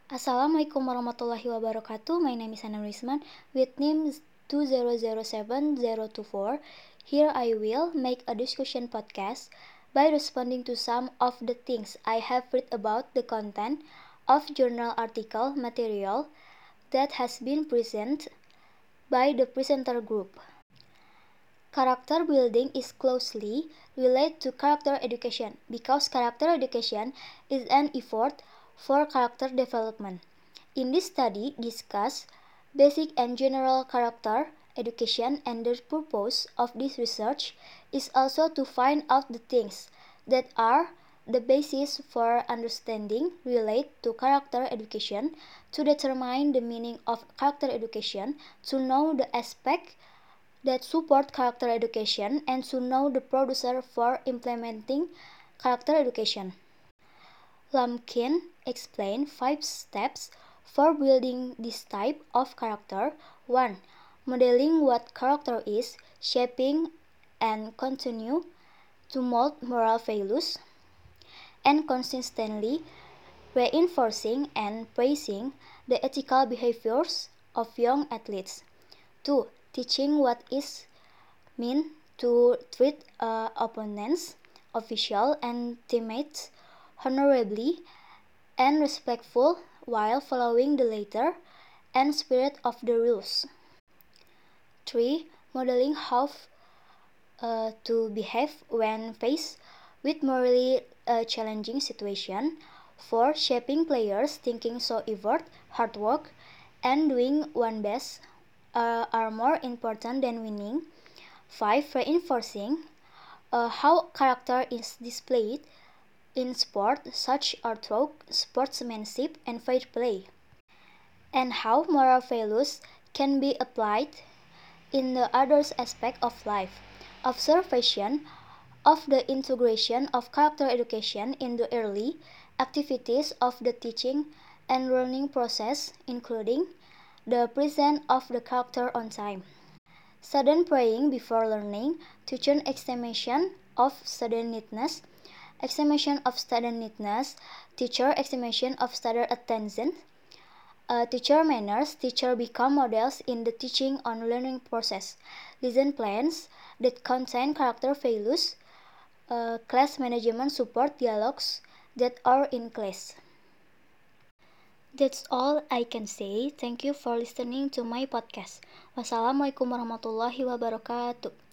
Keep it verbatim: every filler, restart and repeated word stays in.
Assalamualaikum warahmatullahi wabarakatuh. My name is Hana Risman with name two zero zero seven zero two four. Here I will make a discussion podcast by responding to some of the things I have read about the content of journal article material that has been presented by the presenter group. Character building is closely related to character education because character education is an effort for character development. In this study, discuss basic and general character education, and the purpose of this research is also to find out the things that are the basis for understanding relate to character education, to determine the meaning of character education, to know the aspect that support character education, and to know the producer for implementing character education. Lumpkin explained five steps for building this type of character. one. Modeling what character is, shaping and continue to mold moral values, and consistently reinforcing and praising the ethical behaviors of young athletes. two. Teaching what is mean to treat uh, opponents, officials, and teammates honorably and respectful while following the letter and spirit of the rules. three. Modeling how uh, to behave when faced with morally uh, challenging situation. four. Shaping players thinking so effort, hard work, and doing one best uh, are more important than winning. five. Reinforcing uh, how character is displayed in sport, such as through sportsmanship and fair play, and how moral values can be applied in the other aspects of life. Observation of the integration of character education in the early activities of the teaching and learning process, including the presence of the character on time. Sudden praying before learning, teacher estimation of studentness, estimation of studentness, teacher estimation of student attention, uh, teacher manners, teacher become models in the teaching on learning process, lesson plans that contain character values, uh, class management support dialogues that are in class. That's all I can say. Thank you for listening to my podcast. Wassalamualaikum warahmatullahi wabarakatuh.